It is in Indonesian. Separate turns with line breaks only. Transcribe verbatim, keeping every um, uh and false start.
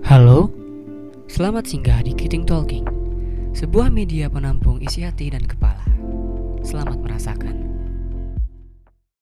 Halo, selamat singgah di Kiting Talking, sebuah media penampung isi hati dan kepala.